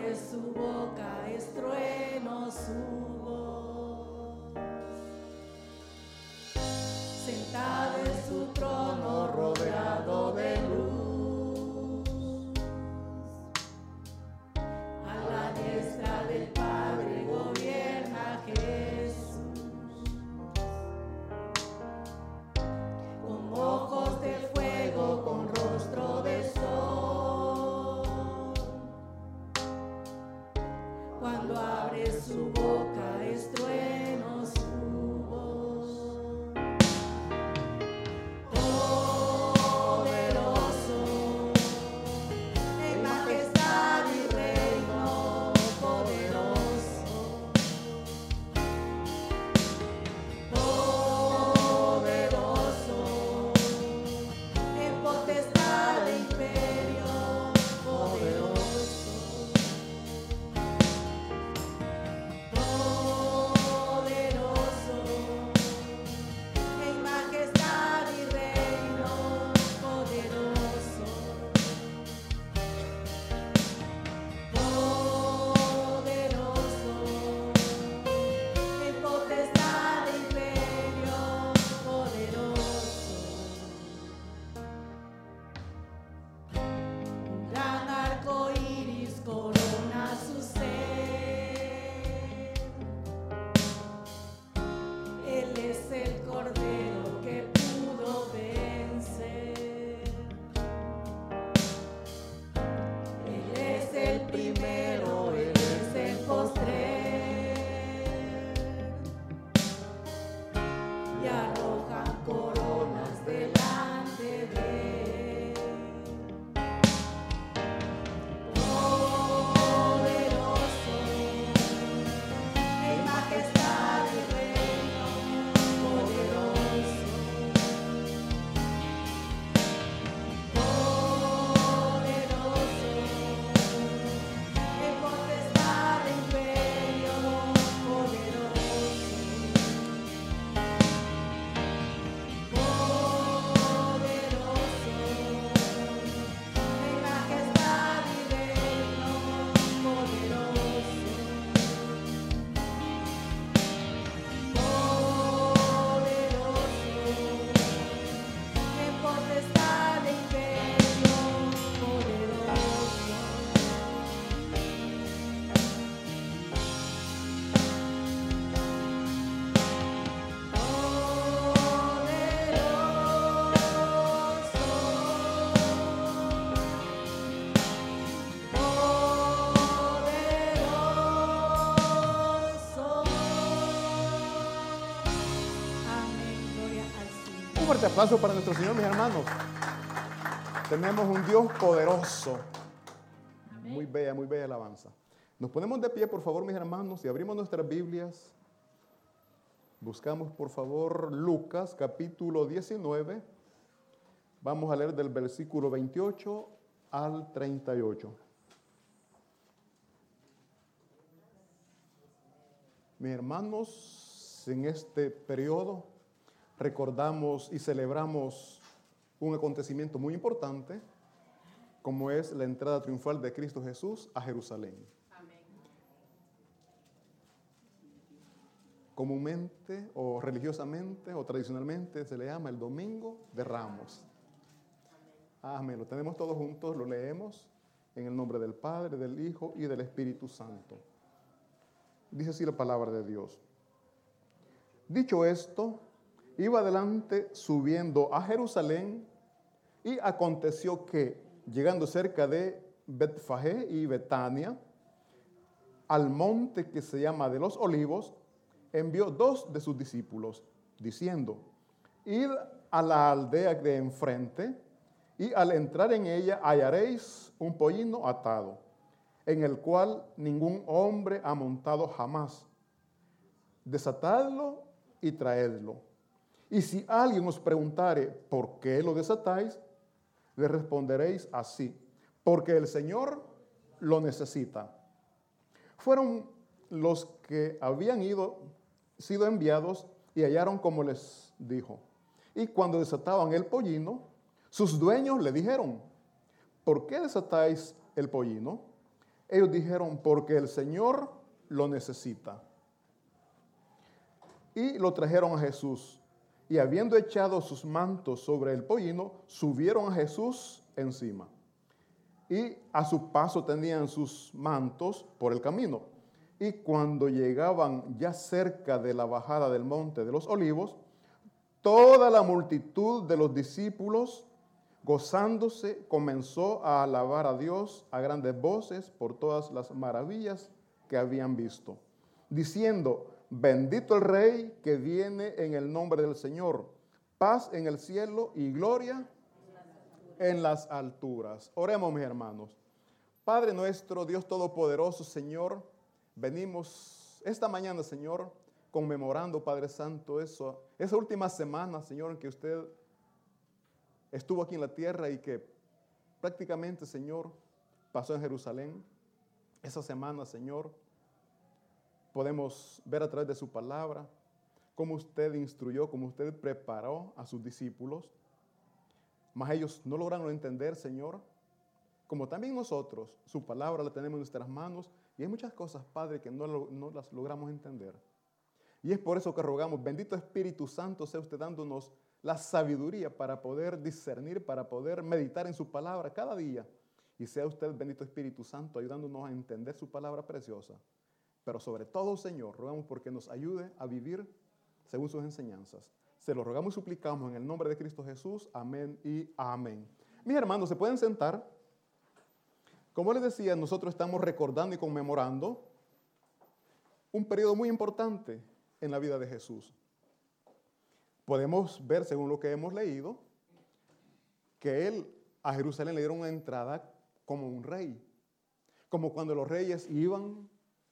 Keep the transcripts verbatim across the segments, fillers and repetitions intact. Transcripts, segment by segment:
abre su boca, es trueno su voz. Sentado en su trono, rodeado de luz, a la diestra del Padre gobierna Jesús. Con ojos de fuego, con rostro de sol, cuando abre su boca es trueno su voz. Poderoso, en majestad y reino, poderoso. Poderoso, en potestad e imperio, poderoso. Poderoso, en majestad y reino, poderoso. Poderoso, en potestad e imperio, poderoso. Un gran arco iris corona su ser. Él es el Cordero que pudo vencer. Él es el primero, Él es el postrer. Y arrojan coronas delante de Él. Poderoso, en majestad y reino, poderoso. Poderoso, en potestad e imperio, poderoso. Poderoso, en majestad y reino, poderoso. Poderoso, en potestad e imperio, poderoso. Poderoso. Amén, gloria al Señor. Un fuerte aplauso para nuestro Señor, mis hermanos. Tenemos un Dios poderoso. Muy bella, muy bella alabanza. Nos ponemos de pie, por favor, mis hermanos, y abrimos nuestras Biblias. Buscamos, por favor, Lucas, capítulo diecinueve. Vamos a leer del versículo veintiocho al treinta y ocho. Mis hermanos, en este periodo recordamos y celebramos un acontecimiento muy importante, como es la entrada triunfal de Cristo Jesús a Jerusalén. Comúnmente o religiosamente o tradicionalmente se le llama el Domingo de Ramos. Amén. Lo tenemos todos juntos, lo leemos en el nombre del Padre, del Hijo y del Espíritu Santo. Dice así la palabra de Dios. Dicho esto, iba adelante subiendo a Jerusalén, y aconteció que, llegando cerca de Betfagé y Betania, al monte que se llama de los Olivos, envió dos de sus discípulos, diciendo: id a la aldea de enfrente, y al entrar en ella hallaréis un pollino atado, en el cual ningún hombre ha montado jamás. Desatadlo y traedlo. Y si alguien os preguntare por qué lo desatáis, le responderéis así: porque el Señor lo necesita. Fueron los que habían ido, sido enviados, y hallaron como les dijo. Y cuando desataban el pollino, sus dueños le dijeron: ¿por qué desatáis el pollino? Ellos dijeron, porque el Señor lo necesita. Y lo trajeron a Jesús. Y habiendo echado sus mantos sobre el pollino, subieron a Jesús encima. Y a su paso tenían sus mantos por el camino. Y cuando llegaban ya cerca de la bajada del monte de los olivos, toda la multitud de los discípulos, gozándose, comenzó a alabar a Dios a grandes voces por todas las maravillas que habían visto, diciendo, bendito el Rey que viene en el nombre del Señor, paz en el cielo y gloria en las alturas. Oremos, mis hermanos. Padre nuestro, Dios Todopoderoso, Señor, venimos esta mañana, Señor, conmemorando, Padre Santo, eso, esa última semana, Señor, en que usted estuvo aquí en la tierra y que prácticamente, Señor, pasó en Jerusalén. Esa semana, Señor, podemos ver a través de su palabra cómo usted instruyó, cómo usted preparó a sus discípulos, mas ellos no lograron entender, Señor, como también nosotros, su palabra la tenemos en nuestras manos y hay muchas cosas, Padre, que no, no las logramos entender. Y es por eso que rogamos, bendito Espíritu Santo, sea usted dándonos la sabiduría para poder discernir, para poder meditar en su palabra cada día. Y sea usted, bendito Espíritu Santo, ayudándonos a entender su palabra preciosa. Pero sobre todo, Señor, rogamos porque nos ayude a vivir según sus enseñanzas. Se lo rogamos y suplicamos en el nombre de Cristo Jesús. Amén y amén. Mis hermanos, ¿se pueden sentar? Como les decía, nosotros estamos recordando y conmemorando un periodo muy importante en la vida de Jesús. Podemos ver, según lo que hemos leído, que él a Jerusalén le dieron una entrada como un rey. Como cuando los reyes iban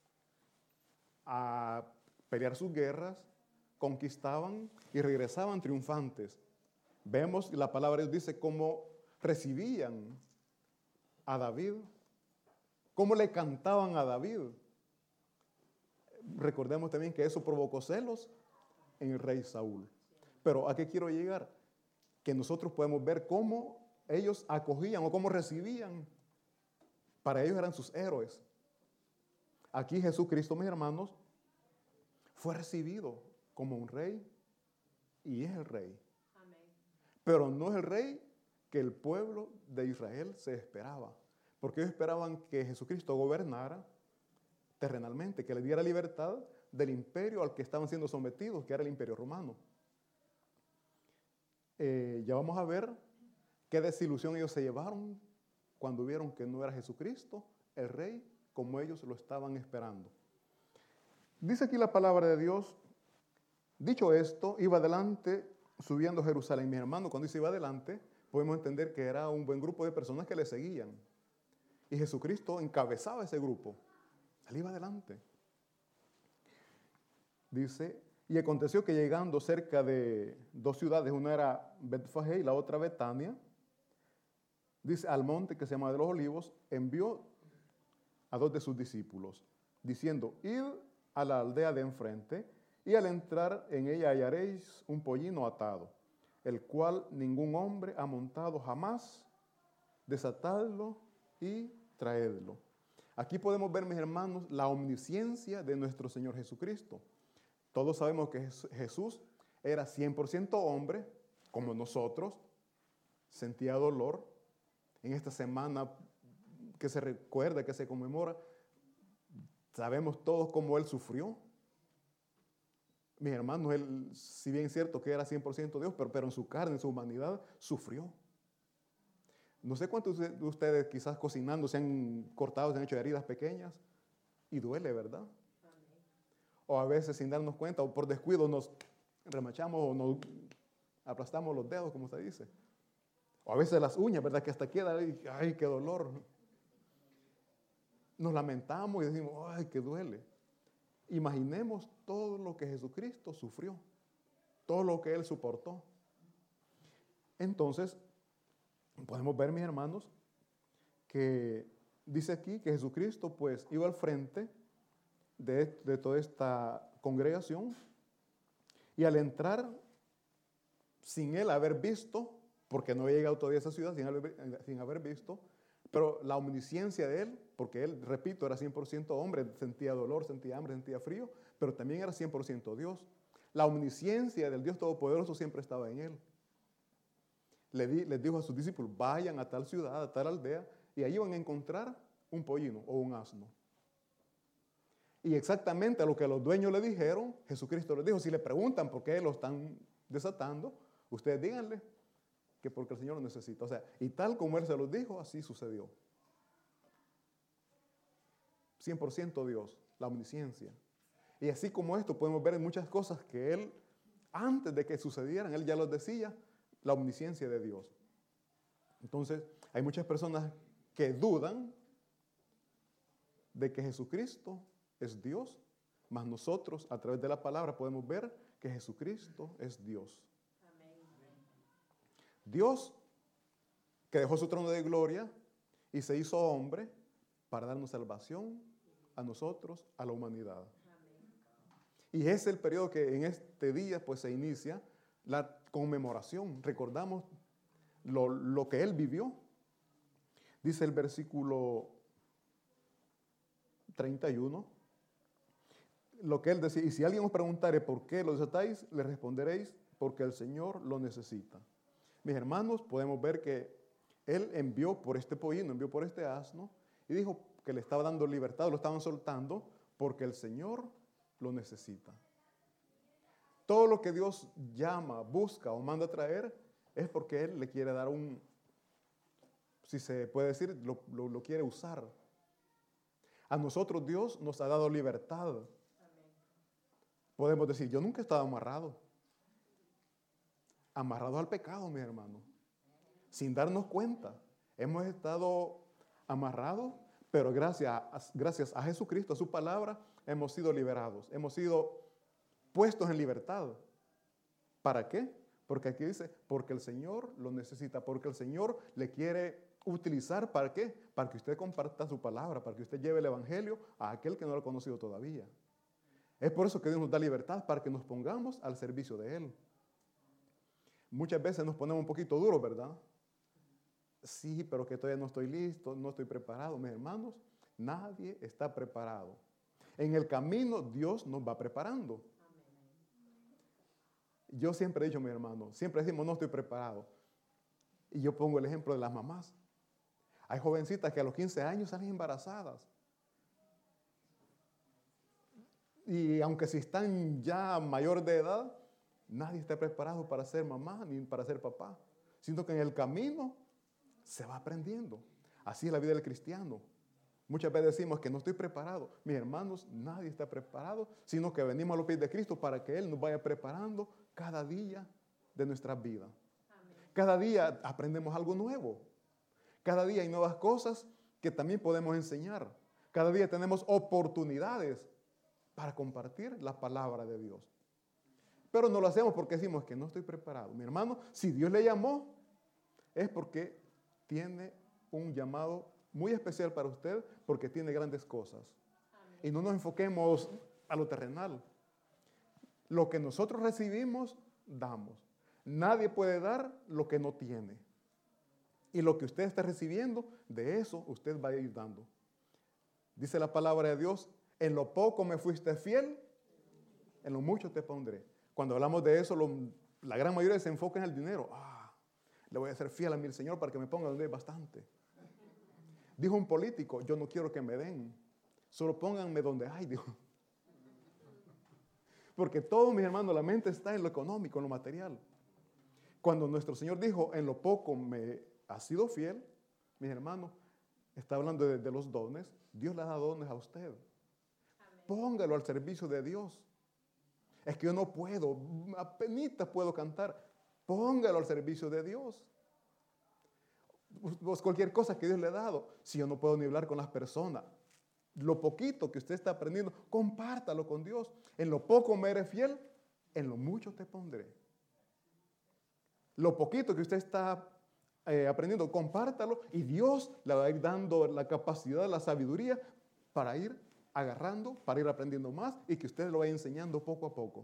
a pelear sus guerras, conquistaban y regresaban triunfantes. Vemos, la palabra de Dios dice cómo recibían a David, cómo le cantaban a David. Recordemos también que eso provocó celos en el rey Saúl. Pero ¿a qué quiero llegar? Que nosotros podemos ver cómo ellos acogían o cómo recibían. Para ellos eran sus héroes. Aquí Jesucristo, mis hermanos, fue recibido como un rey y es el rey. Amén. Pero no es el rey que el pueblo de Israel se esperaba. Porque ellos esperaban que Jesucristo gobernara terrenalmente, que le diera libertad del imperio al que estaban siendo sometidos, que era el imperio romano. Eh, ya vamos a ver qué desilusión ellos se llevaron cuando vieron que no era Jesucristo, el rey, como ellos lo estaban esperando. Dice aquí la palabra de Dios, dicho esto, iba adelante subiendo a Jerusalén. Mi hermano, cuando dice iba adelante, podemos entender que era un buen grupo de personas que le seguían. Y Jesucristo encabezaba ese grupo. Él iba adelante. Dice, y aconteció que llegando cerca de dos ciudades, una era Betfagé y la otra Betania, dice, al monte que se llama de los Olivos, envió a dos de sus discípulos, diciendo, id a la aldea de enfrente, y al entrar en ella hallaréis un pollino atado, el cual ningún hombre ha montado jamás, desatadlo y traedlo. Aquí podemos ver, mis hermanos, la omnisciencia de nuestro Señor Jesucristo. Todos sabemos que Jesús era cien por ciento hombre, como nosotros, sentía dolor. En esta semana que se recuerda, que se conmemora, sabemos todos cómo Él sufrió. Mis hermanos, Él, si bien es cierto que era cien por ciento Dios, pero, pero en su carne, en su humanidad, sufrió. No sé cuántos de ustedes quizás cocinando se han cortado, se han hecho heridas pequeñas y duele, ¿verdad? O a veces sin darnos cuenta o por descuido nos remachamos o nos aplastamos los dedos, como se dice. O a veces las uñas, ¿verdad? Que hasta queda, ¡ay, qué dolor! Nos lamentamos y decimos, ¡ay, qué duele! Imaginemos todo lo que Jesucristo sufrió, todo lo que Él soportó. Entonces, podemos ver, mis hermanos, que dice aquí que Jesucristo pues iba al frente de, de toda esta congregación y al entrar sin él haber visto, porque no había llegado todavía a esa ciudad sin haber, sin haber visto, Pero la omnisciencia de él, porque él, repito, era cien por ciento hombre, sentía dolor, sentía hambre, sentía frío, pero también era cien por ciento Dios. La omnisciencia del Dios Todopoderoso siempre estaba en él. Le di, les dijo a sus discípulos, vayan a tal ciudad, a tal aldea, y ahí van a encontrar un pollino o un asno. Y exactamente a lo que los dueños le dijeron, Jesucristo les dijo, si le preguntan por qué lo están desatando, ustedes díganle que porque el Señor lo necesita. O sea, y tal como Él se los dijo, así sucedió. cien por ciento Dios, la omnisciencia. Y así como esto podemos ver en muchas cosas que Él, antes de que sucedieran, Él ya los decía, la omnisciencia de Dios. Entonces, hay muchas personas que dudan de que Jesucristo es Dios, mas nosotros a través de la palabra podemos ver que Jesucristo es Dios. Dios que dejó su trono de gloria y se hizo hombre para darnos salvación a nosotros, a la humanidad. Y es el periodo que en este día pues se inicia la conmemoración. Recordamos lo, lo que Él vivió. Dice el versículo treinta y uno, lo que Él decía, y si alguien os preguntare por qué lo desatáis, le responderéis porque el Señor lo necesita. Mis hermanos, podemos ver que Él envió por este pollino, envió por este asno, y dijo que le estaba dando libertad, lo estaban soltando, porque el Señor lo necesita. Todo lo que Dios llama, busca o manda a traer, es porque Él le quiere dar un, si se puede decir, lo, lo, lo quiere usar. A nosotros Dios nos ha dado libertad. Podemos decir, yo nunca he estado amarrado. Amarrados al pecado, mis hermanos. Sin darnos cuenta. Hemos estado amarrados, pero gracias a, gracias a Jesucristo, a su palabra, hemos sido liberados. Hemos sido puestos en libertad. ¿Para qué? Porque aquí dice, porque el Señor lo necesita, porque el Señor le quiere utilizar, ¿para qué? Para que usted comparta su palabra, para que usted lleve el evangelio a aquel que no lo ha conocido todavía. Es por eso que Dios nos da libertad, para que nos pongamos al servicio de Él. Muchas veces nos ponemos un poquito duros, ¿verdad? Sí, pero que todavía no estoy listo, no estoy preparado. Mis hermanos, nadie está preparado. En el camino Dios nos va preparando. Yo siempre he dicho, mi hermano, siempre decimos no estoy preparado. Y yo pongo el ejemplo de las mamás. Hay jovencitas que a los quince años salen embarazadas. Y aunque si están ya mayor de edad, nadie está preparado para ser mamá ni para ser papá. Sino que en el camino se va aprendiendo. Así es la vida del cristiano. Muchas veces decimos que no estoy preparado. Mis hermanos, nadie está preparado, sino que venimos a los pies de Cristo para que Él nos vaya preparando cada día de nuestra vida. Amén. Cada día aprendemos algo nuevo. Cada día hay nuevas cosas que también podemos enseñar. Cada día tenemos oportunidades para compartir la palabra de Dios. Pero no lo hacemos porque decimos que no estoy preparado. Mi hermano, si Dios le llamó, es porque tiene un llamado muy especial para usted, porque tiene grandes cosas. Amén. Y no nos enfoquemos a lo terrenal. Lo que nosotros recibimos, damos. Nadie puede dar lo que no tiene. Y lo que usted está recibiendo, de eso usted va a ir dando. Dice la palabra de Dios, en lo poco me fuiste fiel, en lo mucho te pondré. Cuando hablamos de eso, lo, la gran mayoría se enfoca en el dinero. Ah, le voy a ser fiel a mi Señor para que me ponga donde hay bastante. Dijo un político, yo no quiero que me den, solo pónganme donde hay, dijo. Porque todos mis hermanos, la mente está en lo económico, en lo material. Cuando nuestro Señor dijo, en lo poco me ha sido fiel, mis hermanos, está hablando de, de los dones. Dios le ha dado dones a usted. Amén. Póngalo al servicio de Dios. Es que yo no puedo, apenas puedo cantar. Póngalo al servicio de Dios. Pues cualquier cosa que Dios le ha dado. Si yo no puedo ni hablar con las personas, lo poquito que usted está aprendiendo, compártalo con Dios. En lo poco me eres fiel, en lo mucho te pondré. Lo poquito que usted está eh, aprendiendo, compártalo y Dios le va a ir dando la capacidad, la sabiduría para ir agarrando, para ir aprendiendo más y que usted lo vaya enseñando poco a poco.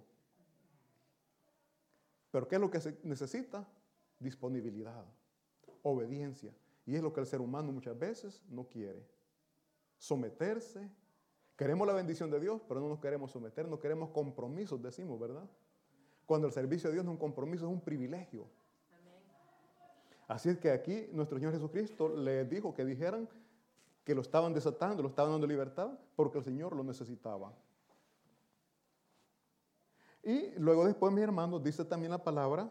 Pero ¿qué es lo que se necesita? Disponibilidad, obediencia. Y es lo que el ser humano muchas veces no quiere. Someterse. Queremos la bendición de Dios, pero no nos queremos someter, no queremos compromisos, decimos, ¿verdad? Cuando el servicio de Dios no es un compromiso, es un privilegio. Amén. Así es que aquí nuestro Señor Jesucristo les dijo que dijeran que lo estaban desatando, lo estaban dando libertad, porque el Señor lo necesitaba. Y luego después, mis hermanos, dice también la palabra,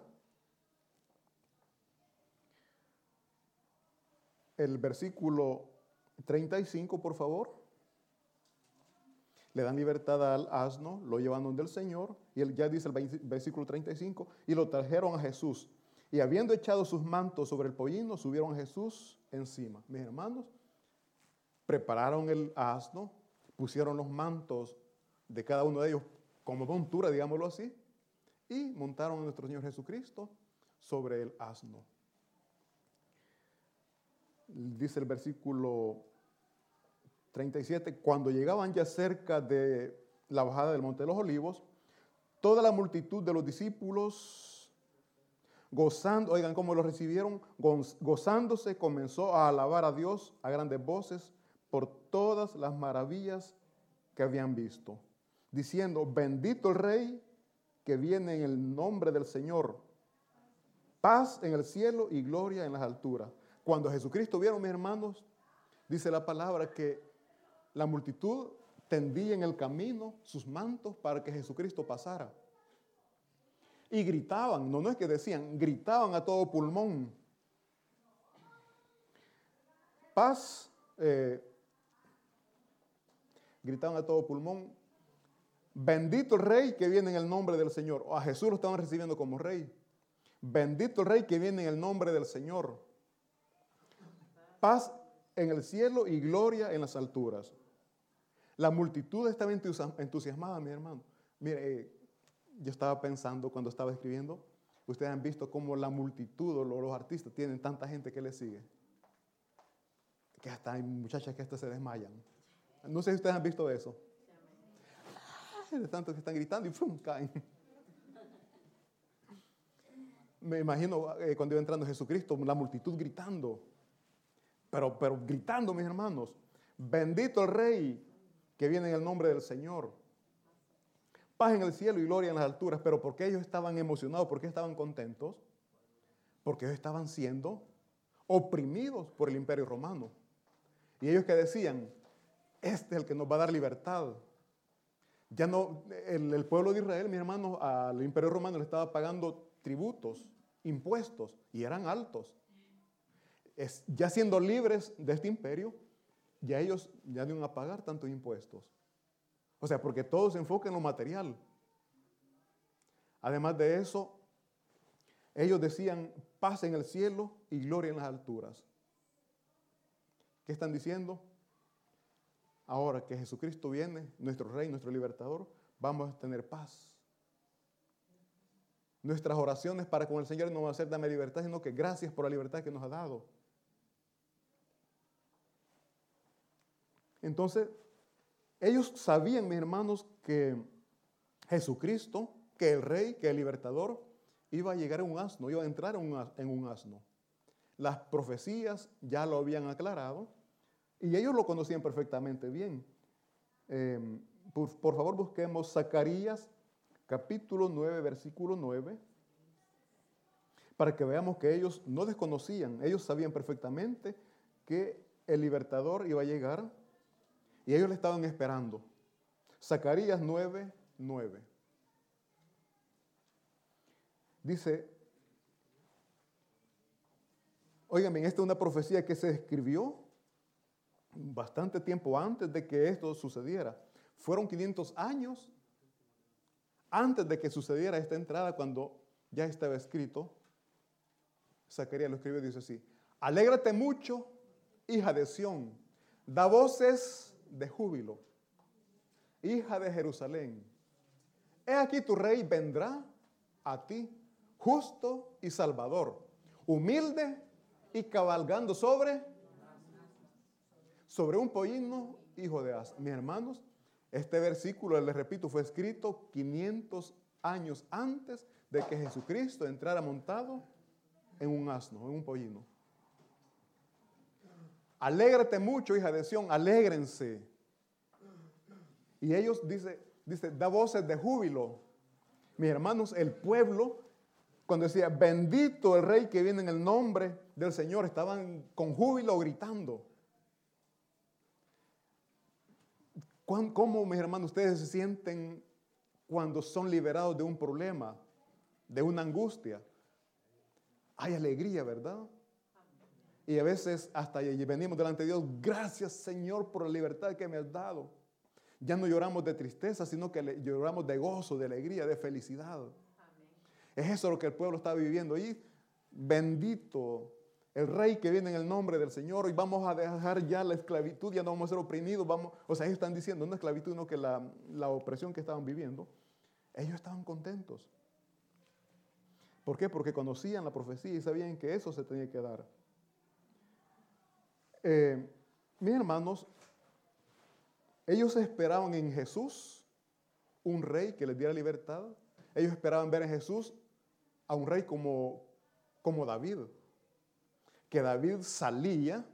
el versículo treinta y cinco, por favor. Le dan libertad al asno, lo llevan donde el Señor, y él ya dice el versículo treinta y cinco, y lo trajeron a Jesús. Y habiendo echado sus mantos sobre el pollino, subieron a Jesús encima. Mis hermanos, prepararon el asno, pusieron los mantos de cada uno de ellos como montura, digámoslo así, y montaron a nuestro Señor Jesucristo sobre el asno. Dice el versículo treinta y siete, cuando llegaban ya cerca de la bajada del Monte de los Olivos, toda la multitud de los discípulos, gozando, oigan cómo lo recibieron, gozándose, comenzó a alabar a Dios a grandes voces por todas las maravillas que habían visto, diciendo, bendito el Rey que viene en el nombre del Señor, paz en el cielo y gloria en las alturas. Cuando Jesucristo vieron, mis hermanos, dice la palabra que la multitud tendía en el camino sus mantos para que Jesucristo pasara. Y gritaban, no, no es que decían, gritaban a todo pulmón. Paz, eh, gritaban a todo pulmón, bendito el Rey que viene en el nombre del Señor. O a Jesús lo estaban recibiendo como Rey. Bendito el Rey que viene en el nombre del Señor. Paz en el cielo y gloria en las alturas. La multitud estaba entusiasmada, mi hermano. Mire, eh, yo estaba pensando cuando estaba escribiendo, ustedes han visto cómo la multitud o los artistas tienen tanta gente que les sigue, que hasta hay muchachas que hasta se desmayan. No sé si ustedes han visto eso. Ay, de tantos que están gritando y ¡fum! Caen. Me imagino eh, cuando iba entrando Jesucristo, la multitud gritando. Pero, pero gritando, mis hermanos, bendito el Rey que viene en el nombre del Señor. Paz en el cielo y gloria en las alturas. Pero ¿por qué ellos estaban emocionados? ¿Por qué estaban contentos? Porque ellos estaban siendo oprimidos por el imperio romano. Y ellos que decían, este es el que nos va a dar libertad. Ya no, el, el pueblo de Israel, mis hermanos, al imperio romano le estaba pagando tributos, impuestos, y eran altos. Es, ya siendo libres de este imperio, ya ellos ya no iban a pagar tantos impuestos. O sea, porque todo se enfoca en lo material. Además de eso, ellos decían paz en el cielo y gloria en las alturas. ¿Qué están diciendo? Ahora que Jesucristo viene, nuestro Rey, nuestro Libertador, vamos a tener paz. Nuestras oraciones para con el Señor no van a ser dame libertad, sino que gracias por la libertad que nos ha dado. Entonces, ellos sabían, mis hermanos, que Jesucristo, que el Rey, que el Libertador, iba a llegar en un asno, iba a entrar en un, en un asno. Las profecías ya lo habían aclarado y ellos lo conocían perfectamente bien. Eh, por, por favor, busquemos Zacarías capítulo nueve, versículo nueve, para que veamos que ellos no desconocían, ellos sabían perfectamente que el Libertador iba a llegar y ellos le estaban esperando. Zacarías nueve, nueve. Dice, óigame, esta es una profecía que se escribió bastante tiempo antes de que esto sucediera. Fueron quinientos años antes de que sucediera esta entrada, cuando ya estaba escrito. Zacarías lo escribió y dice así: alégrate mucho, hija de Sión, da voces de júbilo, hija de Jerusalén. He aquí tu rey vendrá a ti, justo y salvador, humilde y cabalgando sobre, sobre un pollino, hijo de asno. Mis hermanos, este versículo, les repito, fue escrito quinientos años antes de que Jesucristo entrara montado en un asno, en un pollino. alégrate mucho, hija de Sión, alégrense. Y ellos, dice, dice, da voces de júbilo. Mis hermanos, el pueblo, cuando decía, bendito el rey que viene en el nombre del Señor, estaban con júbilo gritando. ¿Cómo, mis hermanos, ustedes se sienten cuando son liberados de un problema, de una angustia? Hay alegría, ¿verdad? Y a veces hasta venimos delante de Dios, gracias Señor por la libertad que me has dado. Ya no lloramos de tristeza, sino que lloramos de gozo, de alegría, de felicidad. Amén. Es eso lo que el pueblo está viviendo. Y bendito el rey que viene en el nombre del Señor. Y vamos a dejar ya la esclavitud, ya no vamos a ser oprimidos. Vamos, o sea, ellos están diciendo, no esclavitud, sino que la, la opresión que estaban viviendo. Ellos estaban contentos. ¿Por qué? Porque conocían la profecía y sabían que eso se tenía que dar. Eh, mis hermanos, ellos esperaban en Jesús un rey que les diera libertad. Ellos esperaban ver en Jesús a un rey como, como David. Que David salía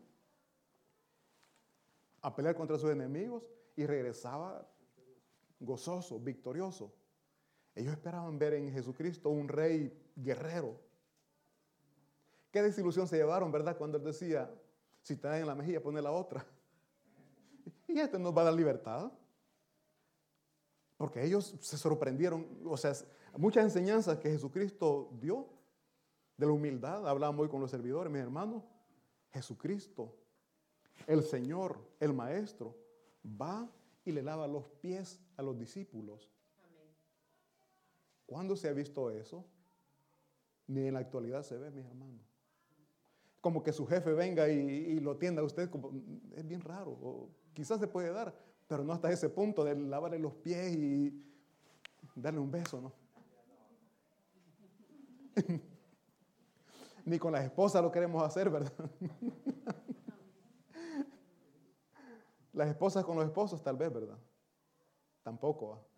a pelear contra sus enemigos y regresaba gozoso, victorioso. Ellos esperaban ver en Jesucristo un rey guerrero. Qué desilusión se llevaron, ¿verdad? Cuando él decía, si te dan en la mejilla, pone la otra. Y este nos va a dar libertad. Porque ellos se sorprendieron, o sea, muchas enseñanzas que Jesucristo dio de la humildad. Hablábamos hoy con los servidores, mis hermanos. Jesucristo, el Señor, el Maestro, va y le lava los pies a los discípulos. Amén. ¿Cuándo se ha visto eso? Ni en la actualidad se ve, mis hermanos. Como que su jefe venga y, y lo atienda a usted, como, es bien raro. O quizás se puede dar, pero no hasta ese punto de lavarle los pies y darle un beso, ¿no? Ni con las esposas lo queremos hacer, ¿verdad? Las esposas con los esposos tal vez, ¿verdad? Tampoco. ¿eh?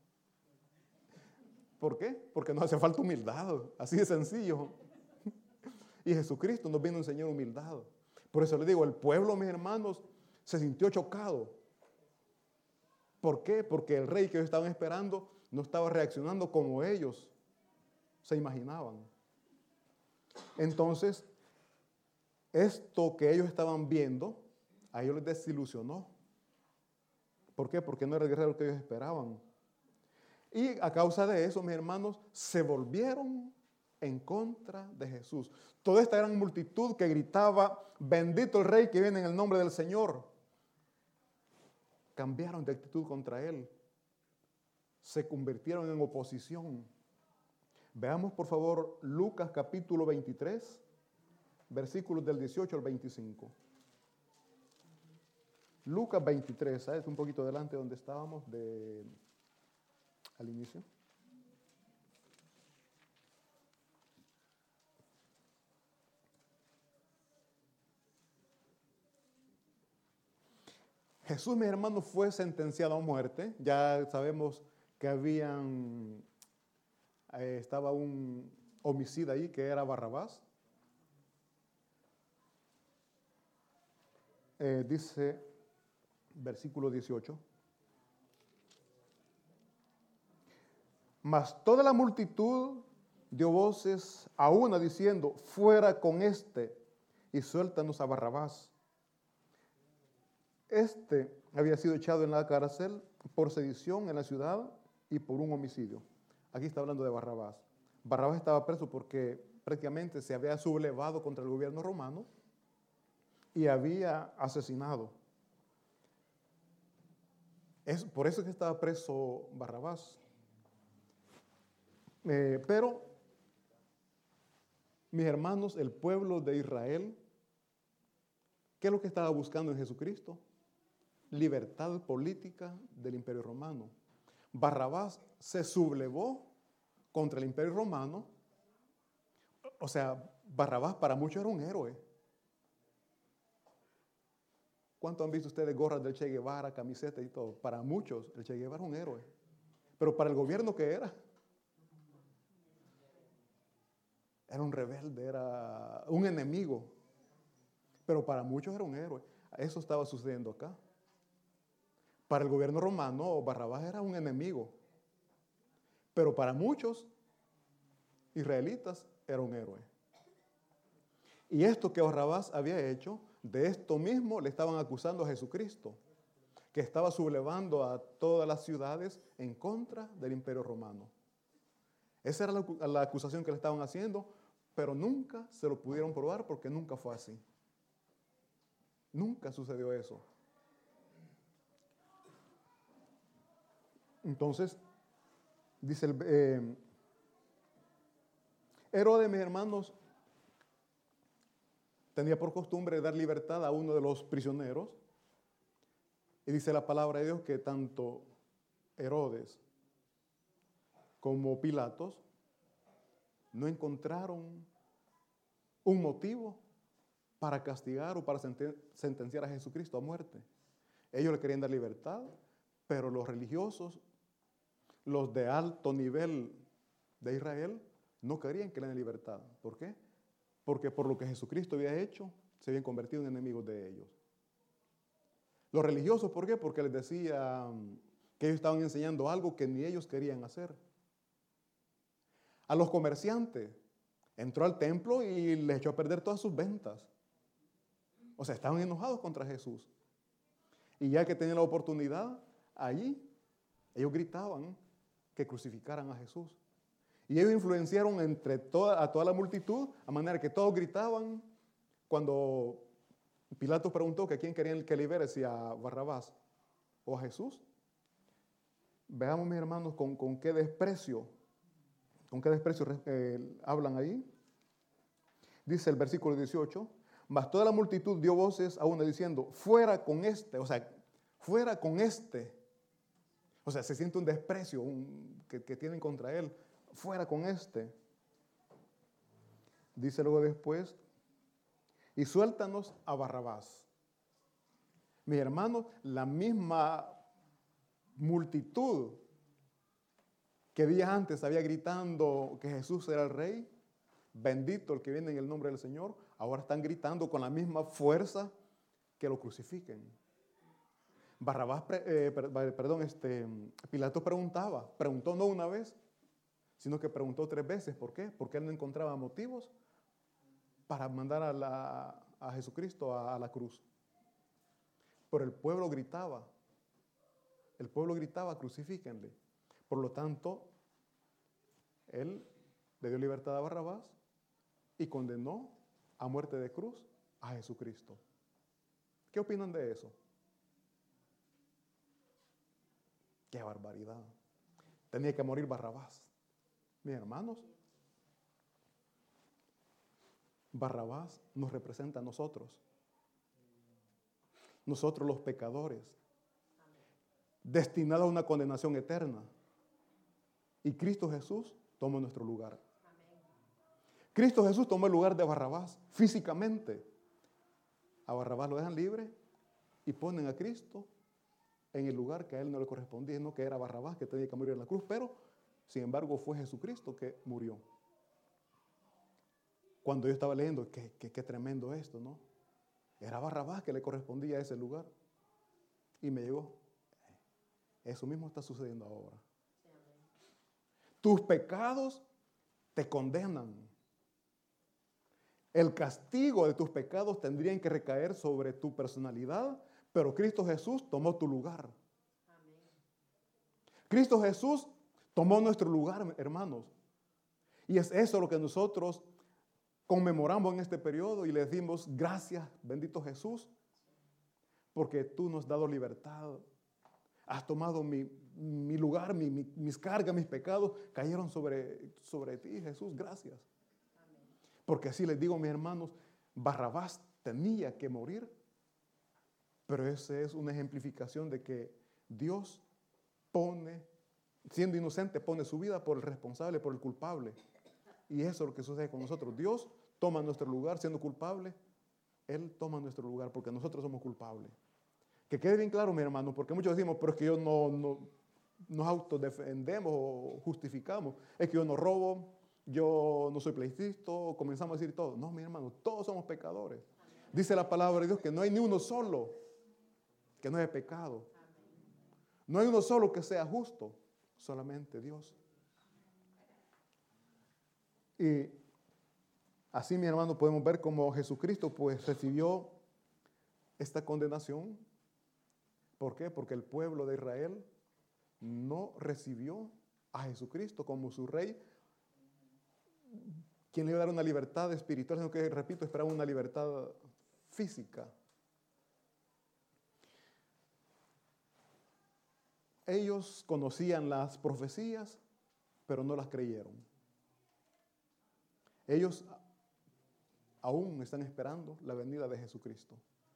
¿Por qué? Porque nos hace falta humildad, así de sencillo. Y Jesucristo nos vino a enseñar humildad. Por eso le digo, el pueblo, mis hermanos, se sintió chocado. ¿Por qué? Porque el rey que ellos estaban esperando no estaba reaccionando como ellos se imaginaban. Entonces, esto que ellos estaban viendo, a ellos les desilusionó. ¿Por qué? Porque no era el guerrero que ellos esperaban. Y a causa de eso, mis hermanos, se volvieron en contra de Jesús. Toda esta gran multitud que gritaba, bendito el rey que viene en el nombre del Señor, cambiaron de actitud contra él. Se convirtieron en oposición. Veamos por favor Lucas capítulo veintitrés, versículos del dieciocho al veinticinco. Lucas veintitrés, ¿sabes? Un poquito adelante donde estábamos de, al inicio. Jesús, mis hermanos, fue sentenciado a muerte. Ya sabemos que habían, eh, estaba un homicida ahí que era Barrabás. Eh, dice, versículo dieciocho. Mas toda la multitud dio voces a una diciendo, fuera con este y suéltanos a Barrabás. Este había sido echado en la cárcel por sedición en la ciudad y por un homicidio. Aquí está hablando de Barrabás. Barrabás estaba preso porque prácticamente se había sublevado contra el gobierno romano y había asesinado. Es por eso que estaba preso Barrabás. Eh, pero, mis hermanos, el pueblo de Israel, ¿qué es lo que estaba buscando en Jesucristo? Libertad política del Imperio Romano. Barrabás se sublevó contra el Imperio Romano. O sea, Barrabás para muchos era un héroe. ¿Cuánto han visto ustedes gorras del Che Guevara, camisetas y todo? Para muchos, el Che Guevara era un héroe. Pero para el gobierno, ¿qué era? Era un rebelde, era un enemigo. Pero para muchos era un héroe. Eso estaba sucediendo acá. Para el gobierno romano, Barrabás era un enemigo. Pero para muchos israelitas era un héroe. Y esto que Barrabás había hecho, de esto mismo le estaban acusando a Jesucristo, que estaba sublevando a todas las ciudades en contra del imperio romano. Esa era la, la acusación que le estaban haciendo, pero nunca se lo pudieron probar porque nunca fue así. Nunca sucedió eso. Entonces, dice el, eh, Herodes, mis hermanos, tenía por costumbre dar libertad a uno de los prisioneros. Y dice la palabra de Dios que tanto Herodes como Pilatos no encontraron un motivo para castigar o para sentenciar a Jesucristo a muerte. Ellos le querían dar libertad, pero los religiosos, los de alto nivel de Israel, no querían que le den libertad. ¿Por qué? Porque por lo que Jesucristo había hecho, se habían convertido en enemigos de ellos. Los religiosos, ¿por qué? Porque les decían que ellos estaban enseñando algo que ni ellos querían hacer. A los comerciantes, entró al templo y les echó a perder todas sus ventas. O sea, estaban enojados contra Jesús. Y ya que tenían la oportunidad, allí ellos gritaban que crucificaran a Jesús. Y ellos influenciaron entre toda, a toda la multitud, a manera que todos gritaban cuando Pilato preguntó que a quién querían que libere, si a Barrabás o a Jesús. Veamos, mis hermanos, con, con qué desprecio, con qué desprecio eh, hablan ahí. Dice el versículo dieciocho, mas toda la multitud dio voces a una diciendo, fuera con este, o sea, fuera con este. O sea, se siente un desprecio un, que, que tienen contra él. Fuera con este. Dice luego después, y suéltanos a Barrabás. Mis hermanos, la misma multitud que días antes había gritando que Jesús era el rey, bendito el que viene en el nombre del Señor, ahora están gritando con la misma fuerza que lo crucifiquen. Barrabás, eh, perdón, este, Pilato preguntaba, preguntó no una vez, sino que preguntó tres veces. ¿Por qué? Porque él no encontraba motivos para mandar a, la, a Jesucristo a, a la cruz. Pero el pueblo gritaba, el pueblo gritaba, crucifíquenle. Por lo tanto, él le dio libertad a Barrabás y condenó a muerte de cruz a Jesucristo. ¿Qué opinan de eso? ¡Qué barbaridad! Tenía que morir Barrabás. Mis hermanos, Barrabás nos representa a nosotros. Nosotros los pecadores, destinados a una condenación eterna. Y Cristo Jesús tomó nuestro lugar. Cristo Jesús tomó el lugar de Barrabás físicamente. A Barrabás lo dejan libre y ponen a Cristo en el lugar que a él no le correspondía, no que era Barrabás que tenía que morir en la cruz, pero sin embargo fue Jesucristo que murió. Cuando yo estaba leyendo, qué, qué, qué tremendo esto, ¿no? Era Barrabás que le correspondía a ese lugar. Y me llegó, eso mismo está sucediendo ahora. Tus pecados te condenan. El castigo de tus pecados tendrían que recaer sobre tu personalidad, pero Cristo Jesús tomó tu lugar. Amén. Cristo Jesús tomó nuestro lugar, hermanos. Y es eso lo que nosotros conmemoramos en este periodo y le decimos gracias, bendito Jesús, porque tú nos has dado libertad. Has tomado mi, mi lugar, mi, mi, mis cargas, mis pecados cayeron sobre, sobre ti, Jesús, gracias. Amén. Porque así les digo, mis hermanos, Barrabás tenía que morir, pero esa es una ejemplificación de que Dios pone, siendo inocente, pone su vida por el responsable, por el culpable. Y eso es lo que sucede con nosotros. Dios toma nuestro lugar siendo culpable. Él toma nuestro lugar porque nosotros somos culpables. Que quede bien claro, mi hermano, porque muchos decimos, pero es que yo no, no nos autodefendemos o justificamos. Es que yo no robo, yo no soy pleitista, comenzamos a decir todo. No, mi hermano, todos somos pecadores. Dice la palabra de Dios que no hay ni uno solo que no haya pecado. No hay uno solo que sea justo, solamente Dios. Y así, mi hermano, podemos ver cómo Jesucristo pues recibió esta condenación. ¿Por qué? Porque el pueblo de Israel no recibió a Jesucristo como su rey, quien le iba a dar una libertad espiritual, sino que, repito, esperaba una libertad física. Ellos conocían las profecías, pero no las creyeron. Ellos aún están esperando la venida de Jesucristo.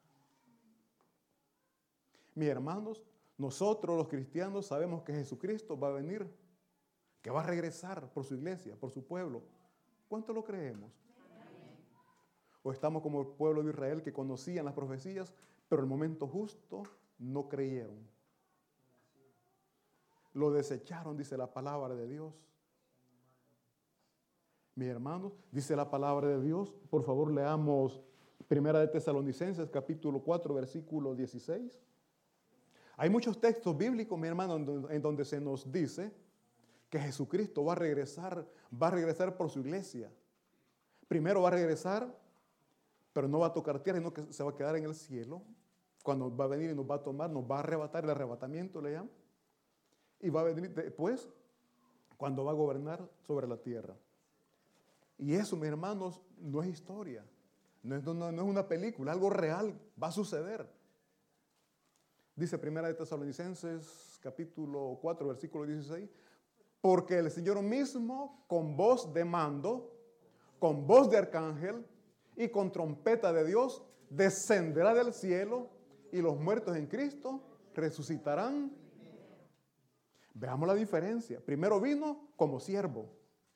Mis hermanos, nosotros los cristianos sabemos que Jesucristo va a venir, que va a regresar por su iglesia, por su pueblo. ¿Cuánto lo creemos? O estamos como el pueblo de Israel que conocían las profecías, pero en el momento justo no creyeron. Lo desecharon, dice la palabra de Dios. Mis hermanos, dice la palabra de Dios, por favor leamos Primera de Tesalonicenses, capítulo cuatro, versículo dieciséis. Hay muchos textos bíblicos, mi hermano, en donde se nos dice que Jesucristo va a regresar, va a regresar por su iglesia. Primero va a regresar, pero no va a tocar tierra, sino que se va a quedar en el cielo. Cuando va a venir y nos va a tomar, nos va a arrebatar, el arrebatamiento le llaman. Y va a venir después, cuando va a gobernar sobre la tierra. Y eso, mis hermanos, no es historia. No es, no, no es una película, algo real, va a suceder. Dice Primera de Tesalonicenses, capítulo cuatro, versículo dieciséis. Porque el Señor mismo, con voz de mando, con voz de arcángel y con trompeta de Dios, descenderá del cielo y los muertos en Cristo resucitarán. Veamos la diferencia. Primero vino como siervo.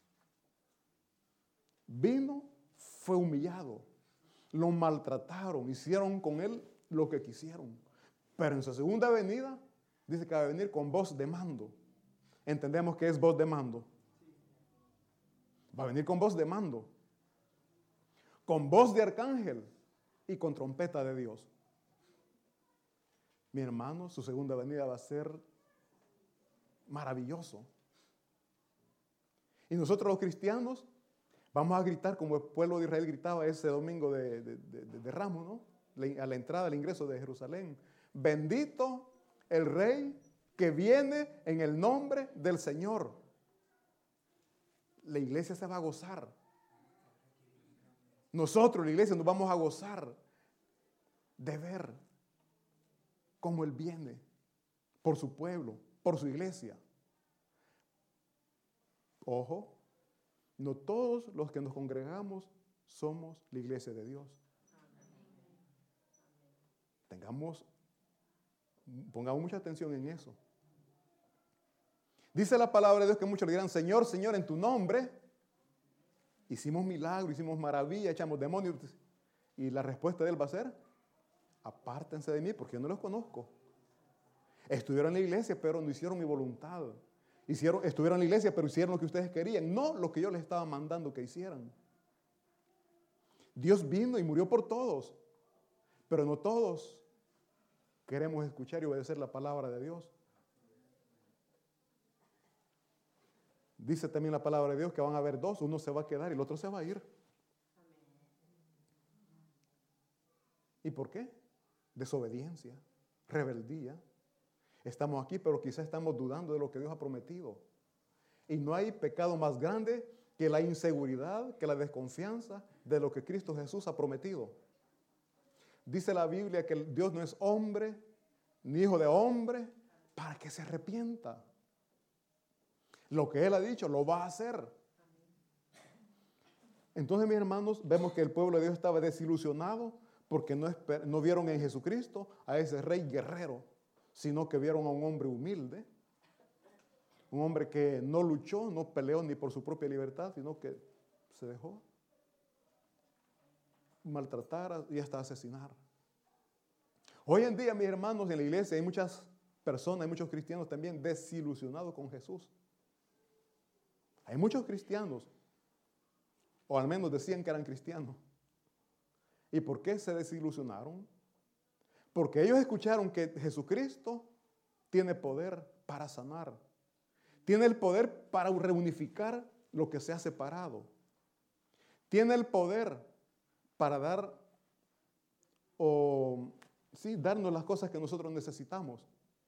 Vino, fue humillado. Lo maltrataron, hicieron con él lo que quisieron. Pero en su segunda venida, dice que va a venir con voz de mando. Entendemos que es voz de mando. Va a venir con voz de mando. Con voz de arcángel y con trompeta de Dios. Mi hermano, su segunda venida va a ser maravilloso. Y nosotros los cristianos vamos a gritar como el pueblo de Israel gritaba ese domingo de, de, de, de Ramos, ¿no? A la entrada, al ingreso de Jerusalén. Bendito el Rey que viene en el nombre del Señor. La iglesia se va a gozar. Nosotros, la iglesia, nos vamos a gozar de ver cómo Él viene por su pueblo, por su iglesia. Ojo, no todos los que nos congregamos somos la iglesia de Dios. Tengamos, pongamos mucha atención en eso. Dice la palabra de Dios que muchos le dirán, Señor, Señor, en tu nombre hicimos milagros, hicimos maravillas, echamos demonios. Y la respuesta de Él va a ser, apártense de mí porque yo no los conozco. Estuvieron en la iglesia, pero no hicieron mi voluntad. Hicieron, estuvieron en la iglesia, pero hicieron lo que ustedes querían, no lo que yo les estaba mandando que hicieran. Dios vino y murió por todos, pero no todos queremos escuchar y obedecer la palabra de Dios. Dice también la palabra de Dios que van a haber dos, uno se va a quedar y el otro se va a ir. ¿Y por qué? Desobediencia, rebeldía. Estamos aquí, pero quizás estamos dudando de lo que Dios ha prometido. Y no hay pecado más grande que la inseguridad, que la desconfianza de lo que Cristo Jesús ha prometido. Dice la Biblia que Dios no es hombre, ni hijo de hombre, para que se arrepienta. Lo que Él ha dicho, lo va a hacer. Entonces, mis hermanos, vemos que el pueblo de Dios estaba desilusionado porque no, esper- no vieron en Jesucristo a ese rey guerrero, sino que vieron a un hombre humilde, un hombre que no luchó, no peleó ni por su propia libertad, sino que se dejó maltratar y hasta asesinar. Hoy en día, mis hermanos, en la iglesia hay muchas personas, hay muchos cristianos también desilusionados con Jesús. Hay muchos cristianos, o al menos decían que eran cristianos, ¿Y por qué se desilusionaron? Porque ellos escucharon que Jesucristo tiene poder para sanar. Tiene el poder para reunificar lo que se ha separado. Tiene el poder para dar o sí, darnos las cosas que nosotros necesitamos.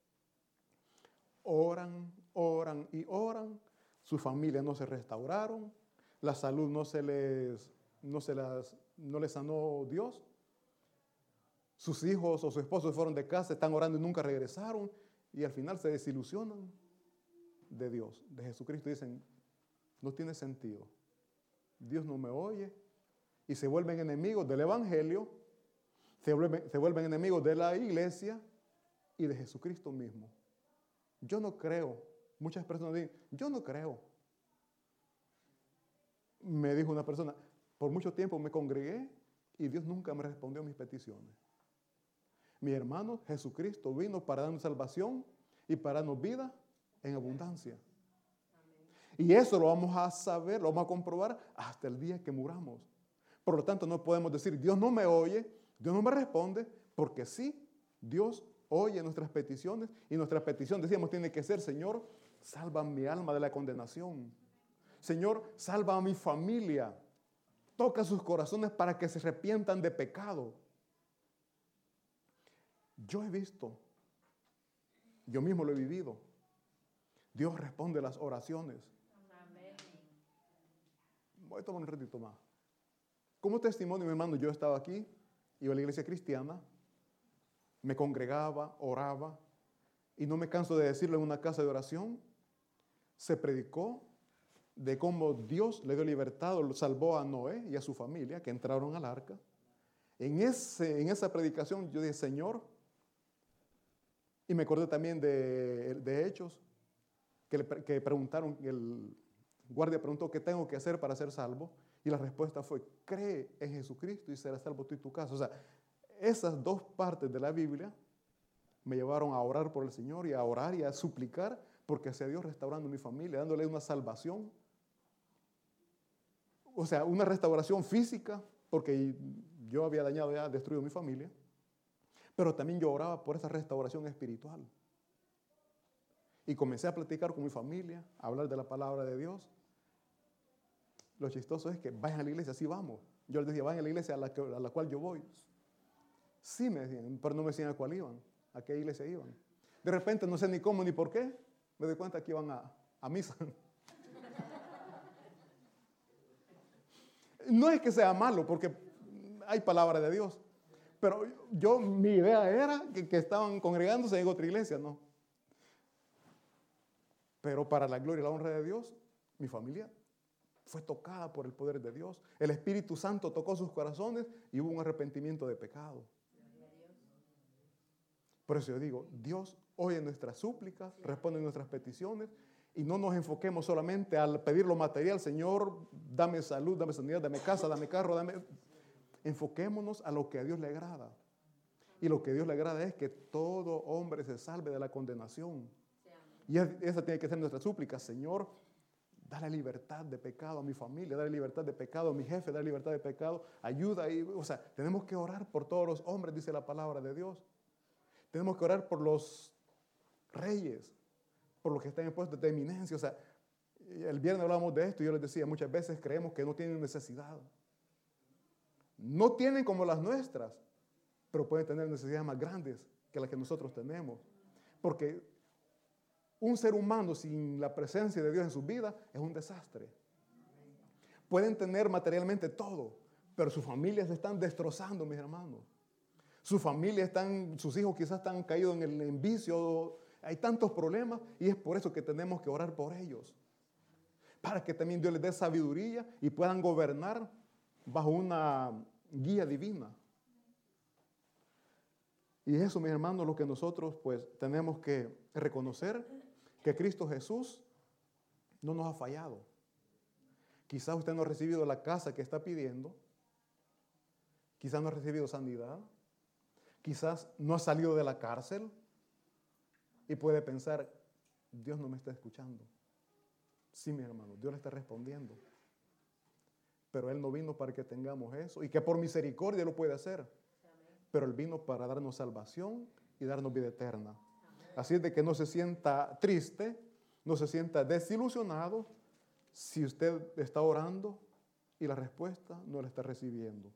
Oran, oran y oran. Sus familias no se restauraron. La salud no se les, no se las, no les sanó Dios. Sus hijos o su esposo fueron de casa, están orando y nunca regresaron. Y al final se desilusionan de Dios, de Jesucristo. Dicen, no tiene sentido. Dios no me oye. Y se vuelven enemigos del Evangelio. Se vuelven, se vuelven enemigos de la iglesia y de Jesucristo mismo. Yo no creo. Muchas personas dicen, yo no creo. Me dijo una persona, por mucho tiempo me congregué y Dios nunca me respondió a mis peticiones. Mi hermano, Jesucristo vino para darnos salvación y para darnos vida en abundancia. Y eso lo vamos a saber, lo vamos a comprobar hasta el día que muramos. Por lo tanto, no podemos decir, Dios no me oye, Dios no me responde, porque sí, Dios oye nuestras peticiones y nuestra petición, decíamos, tiene que ser, Señor, salva mi alma de la condenación. Señor, salva a mi familia. Toca sus corazones para que se arrepientan de pecado. Yo he visto, yo mismo lo he vivido. Dios responde las oraciones. Amén. Voy a tomar un ratito más. Como testimonio, mi hermano, yo estaba aquí, iba a la iglesia cristiana, me congregaba, oraba, y no me canso de decirlo en una casa de oración, se predicó de cómo Dios le dio libertad, lo salvó a Noé y a su familia que entraron al arca. En, ese, en esa predicación yo dije, Señor, y me acordé también de, de Hechos, que, le, que preguntaron, el guardia preguntó, ¿qué tengo que hacer para ser salvo? Y la respuesta fue, cree en Jesucristo y serás salvo tú y tu casa. O sea, esas dos partes de la Biblia me llevaron a orar por el Señor y a orar y a suplicar porque sea Dios restaurando mi familia, dándole una salvación. O sea, una restauración física, porque yo había dañado ya, destruido mi familia. Pero también yo oraba por esa restauración espiritual. Y comencé a platicar con mi familia, a hablar de la palabra de Dios. Lo chistoso es que vayan a la iglesia, sí vamos. Yo les decía, vayan a la iglesia a la, que, a la cual yo voy. Sí me decían, pero no me decían a cuál iban, a qué iglesia iban. De repente, no sé ni cómo ni por qué, me doy cuenta que iban a, a misa. No es que sea malo, porque hay palabra de Dios. Pero yo, mi idea era que, que estaban congregándose en otra iglesia, no. Pero para la gloria y la honra de Dios, mi familia fue tocada por el poder de Dios. El Espíritu Santo tocó sus corazones y hubo un arrepentimiento de pecado. Por eso yo digo, Dios oye nuestras súplicas, responde nuestras peticiones y no nos enfoquemos solamente al pedir lo material. Señor, dame salud, dame sanidad, dame casa, dame carro, dame... Enfoquémonos a lo que a Dios le agrada. Y lo que a Dios le agrada es que todo hombre se salve de la condenación. Y esa tiene que ser nuestra súplica. Señor, dale libertad de pecado a mi familia, dale libertad de pecado a mi jefe, dale libertad de pecado, ayuda. Y, o sea, tenemos que orar por todos los hombres, dice la palabra de Dios. Tenemos que orar por los reyes, por los que están en puestos de eminencia. O sea, el viernes hablamos de esto y yo les decía, muchas veces creemos que no tienen necesidad. No tienen como las nuestras, pero pueden tener necesidades más grandes que las que nosotros tenemos. Porque un ser humano sin la presencia de Dios en su vida es un desastre. Pueden tener materialmente todo, pero sus familias se están destrozando, mis hermanos. Sus familias están, sus hijos quizás están caídos en el en vicio. Hay tantos problemas y es por eso que tenemos que orar por ellos. Para que también Dios les dé sabiduría y puedan gobernar bajo una guía divina. Y eso, mis hermanos, lo que nosotros pues tenemos que reconocer, que Cristo Jesús no nos ha fallado. Quizás usted no ha recibido la casa que está pidiendo, quizás no ha recibido sanidad, quizás no ha salido de la cárcel y puede pensar, Dios no me está escuchando. Sí, mi hermano, Dios le está respondiendo. Pero Él no vino para que tengamos eso y que por misericordia lo puede hacer. Pero Él vino para darnos salvación y darnos vida eterna. Así es de que no se sienta triste, no se sienta desilusionado si usted está orando y la respuesta no la está recibiendo.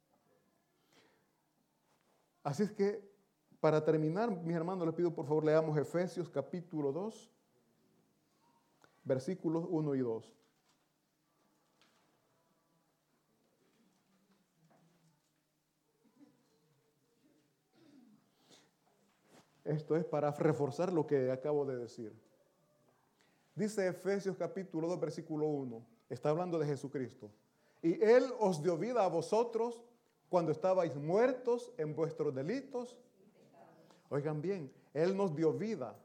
Así es que, para terminar, mis hermanos, les pido por favor leamos Efesios capítulo dos, versículos uno y dos. Esto es para reforzar lo que acabo de decir. Dice Efesios capítulo dos, versículo uno. Está hablando de Jesucristo. Y Él os dio vida a vosotros cuando estabais muertos en vuestros delitos. Oigan bien, Él nos dio vida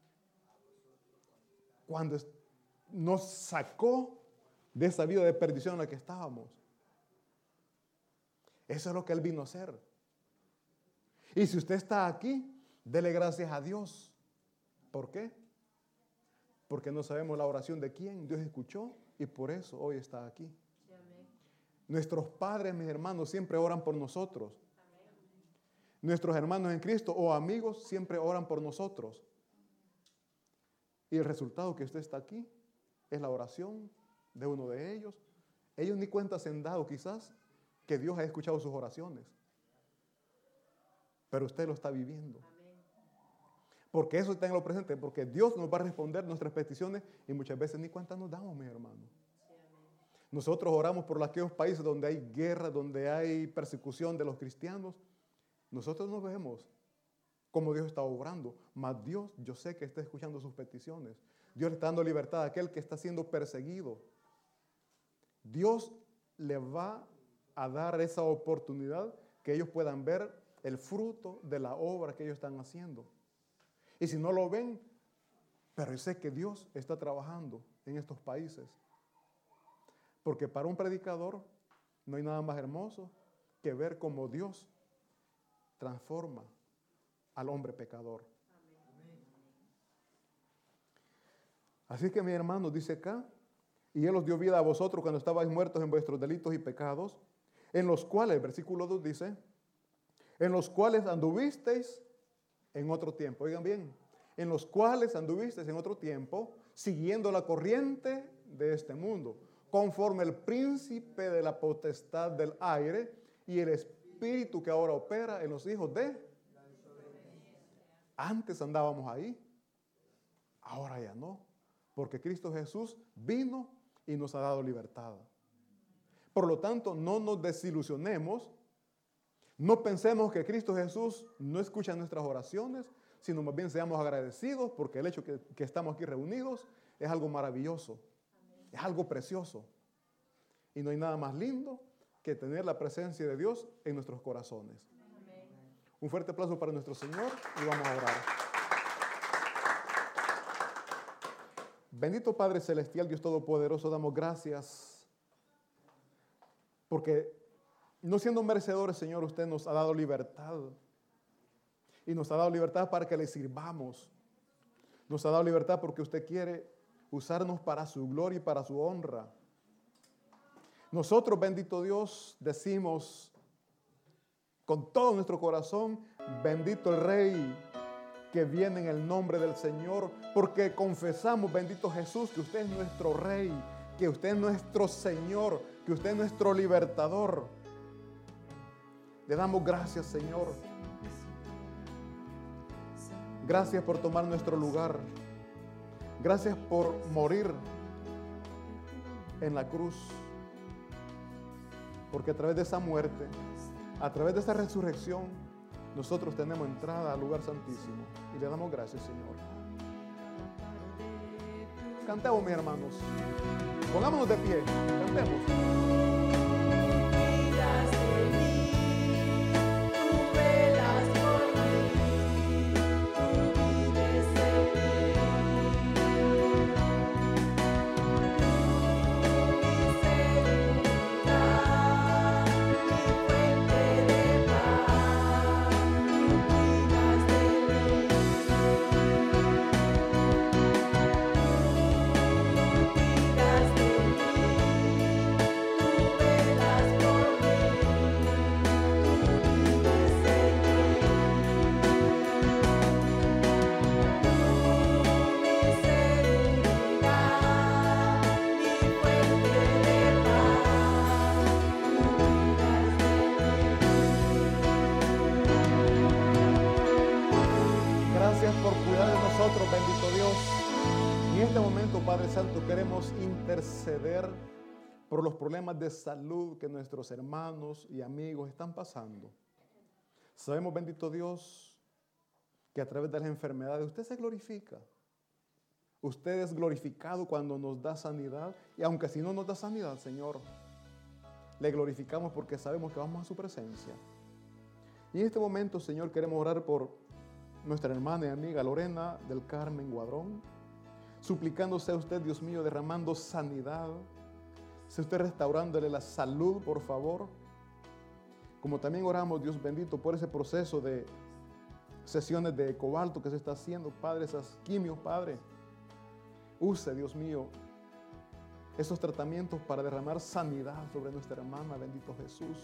cuando nos sacó de esa vida de perdición en la que estábamos. Eso es lo que Él vino a hacer. Y si usted está aquí, dele gracias a Dios. ¿Por qué? Porque no sabemos la oración de quién Dios escuchó y por eso hoy está aquí. Amén. Nuestros padres, mis hermanos, siempre oran por nosotros. Amén. Nuestros hermanos en Cristo o amigos siempre oran por nosotros. Y el resultado que usted está aquí es la oración de uno de ellos. Ellos ni cuenta se han dado quizás que Dios ha escuchado sus oraciones. Pero usted lo está viviendo. Porque eso está en lo presente, porque Dios nos va a responder nuestras peticiones y muchas veces ni cuenta nos damos, mis hermanos. Sí, nosotros oramos por aquellos países donde hay guerra, donde hay persecución de los cristianos. Nosotros no vemos cómo Dios está obrando, mas Dios, yo sé que está escuchando sus peticiones. Dios le está dando libertad a aquel que está siendo perseguido. Dios le va a dar esa oportunidad que ellos puedan ver el fruto de la obra que ellos están haciendo. Y si no lo ven, pero yo sé que Dios está trabajando en estos países. Porque para un predicador no hay nada más hermoso que ver cómo Dios transforma al hombre pecador. Amén. Así que mi hermano dice acá, y Él os dio vida a vosotros cuando estabais muertos en vuestros delitos y pecados, en los cuales, versículo dos dice, en los cuales anduvisteis en otro tiempo, oigan bien, en los cuales anduvisteis en otro tiempo, siguiendo la corriente de este mundo, conforme el príncipe de la potestad del aire y el espíritu que ahora opera en los hijos de... Antes andábamos ahí, ahora ya no, porque Cristo Jesús vino y nos ha dado libertad. Por lo tanto, no nos desilusionemos. No pensemos que Cristo Jesús no escucha nuestras oraciones, sino más bien seamos agradecidos porque el hecho que, que estamos aquí reunidos es algo maravilloso. Amén. Es algo precioso. Y no hay nada más lindo que tener la presencia de Dios en nuestros corazones. Amén. Un fuerte aplauso para nuestro Señor y vamos a orar. Bendito Padre Celestial, Dios Todopoderoso, damos gracias porque no siendo merecedores, Señor, usted nos ha dado libertad. Y nos ha dado libertad para que le sirvamos. Nos ha dado libertad porque usted quiere usarnos para su gloria y para su honra. Nosotros, bendito Dios, decimos con todo nuestro corazón, bendito el Rey que viene en el nombre del Señor, porque confesamos, bendito Jesús, que usted es nuestro Rey, que usted es nuestro Señor, que usted es nuestro libertador. Le damos gracias, Señor. Gracias por tomar nuestro lugar. Gracias por morir en la cruz. Porque a través de esa muerte, a través de esa resurrección, nosotros tenemos entrada al lugar santísimo. Y le damos gracias, Señor. Cantemos, mis hermanos. Pongámonos de pie. Cantemos. Tú Gracias por cuidar de nosotros, bendito Dios. Y en este momento, Padre Santo, queremos interceder por los problemas de salud que nuestros hermanos y amigos están pasando. Sabemos, bendito Dios, que a través de las enfermedades usted se glorifica. Usted es glorificado cuando nos da sanidad. Y aunque si no nos da sanidad, Señor, le glorificamos porque sabemos que vamos a su presencia. Y en este momento, Señor, queremos orar por nuestra hermana y amiga Lorena del Carmen Guadrón, suplicándose a usted, Dios mío, derramando sanidad. Sea usted restaurándole la salud, por favor. Como también oramos, Dios bendito, por ese proceso de sesiones de cobalto que se está haciendo, Padre, esas quimios, Padre. Use, Dios mío, esos tratamientos para derramar sanidad sobre nuestra hermana, bendito Jesús.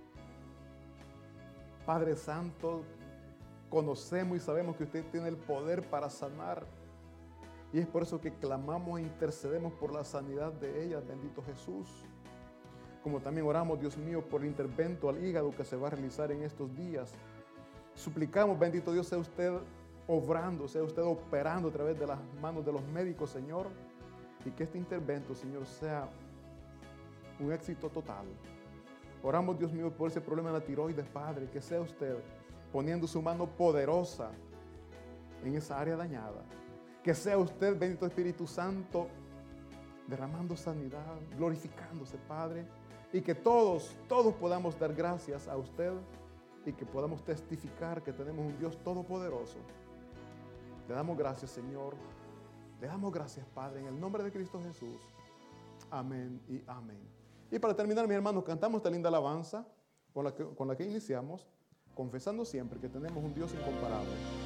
Padre Santo, conocemos y sabemos que usted tiene el poder para sanar. Y es por eso que clamamos e intercedemos por la sanidad de ella, bendito Jesús. Como también oramos, Dios mío, por el intervento al hígado que se va a realizar en estos días. Suplicamos, bendito Dios, sea usted obrando, sea usted operando a través de las manos de los médicos, Señor. Y que este intervento, Señor, sea un éxito total. Oramos, Dios mío, por ese problema de la tiroides, Padre, que sea usted poniendo su mano poderosa en esa área dañada. Que sea usted, bendito Espíritu Santo, derramando sanidad, glorificándose, Padre. Y que todos, todos podamos dar gracias a usted y que podamos testificar que tenemos un Dios todopoderoso. Le damos gracias, Señor. Le damos gracias, Padre, en el nombre de Cristo Jesús. Amén y amén. Y para terminar, mis hermanos, cantamos esta linda alabanza con la que, con la que iniciamos, confesando siempre que tenemos un Dios incomparable.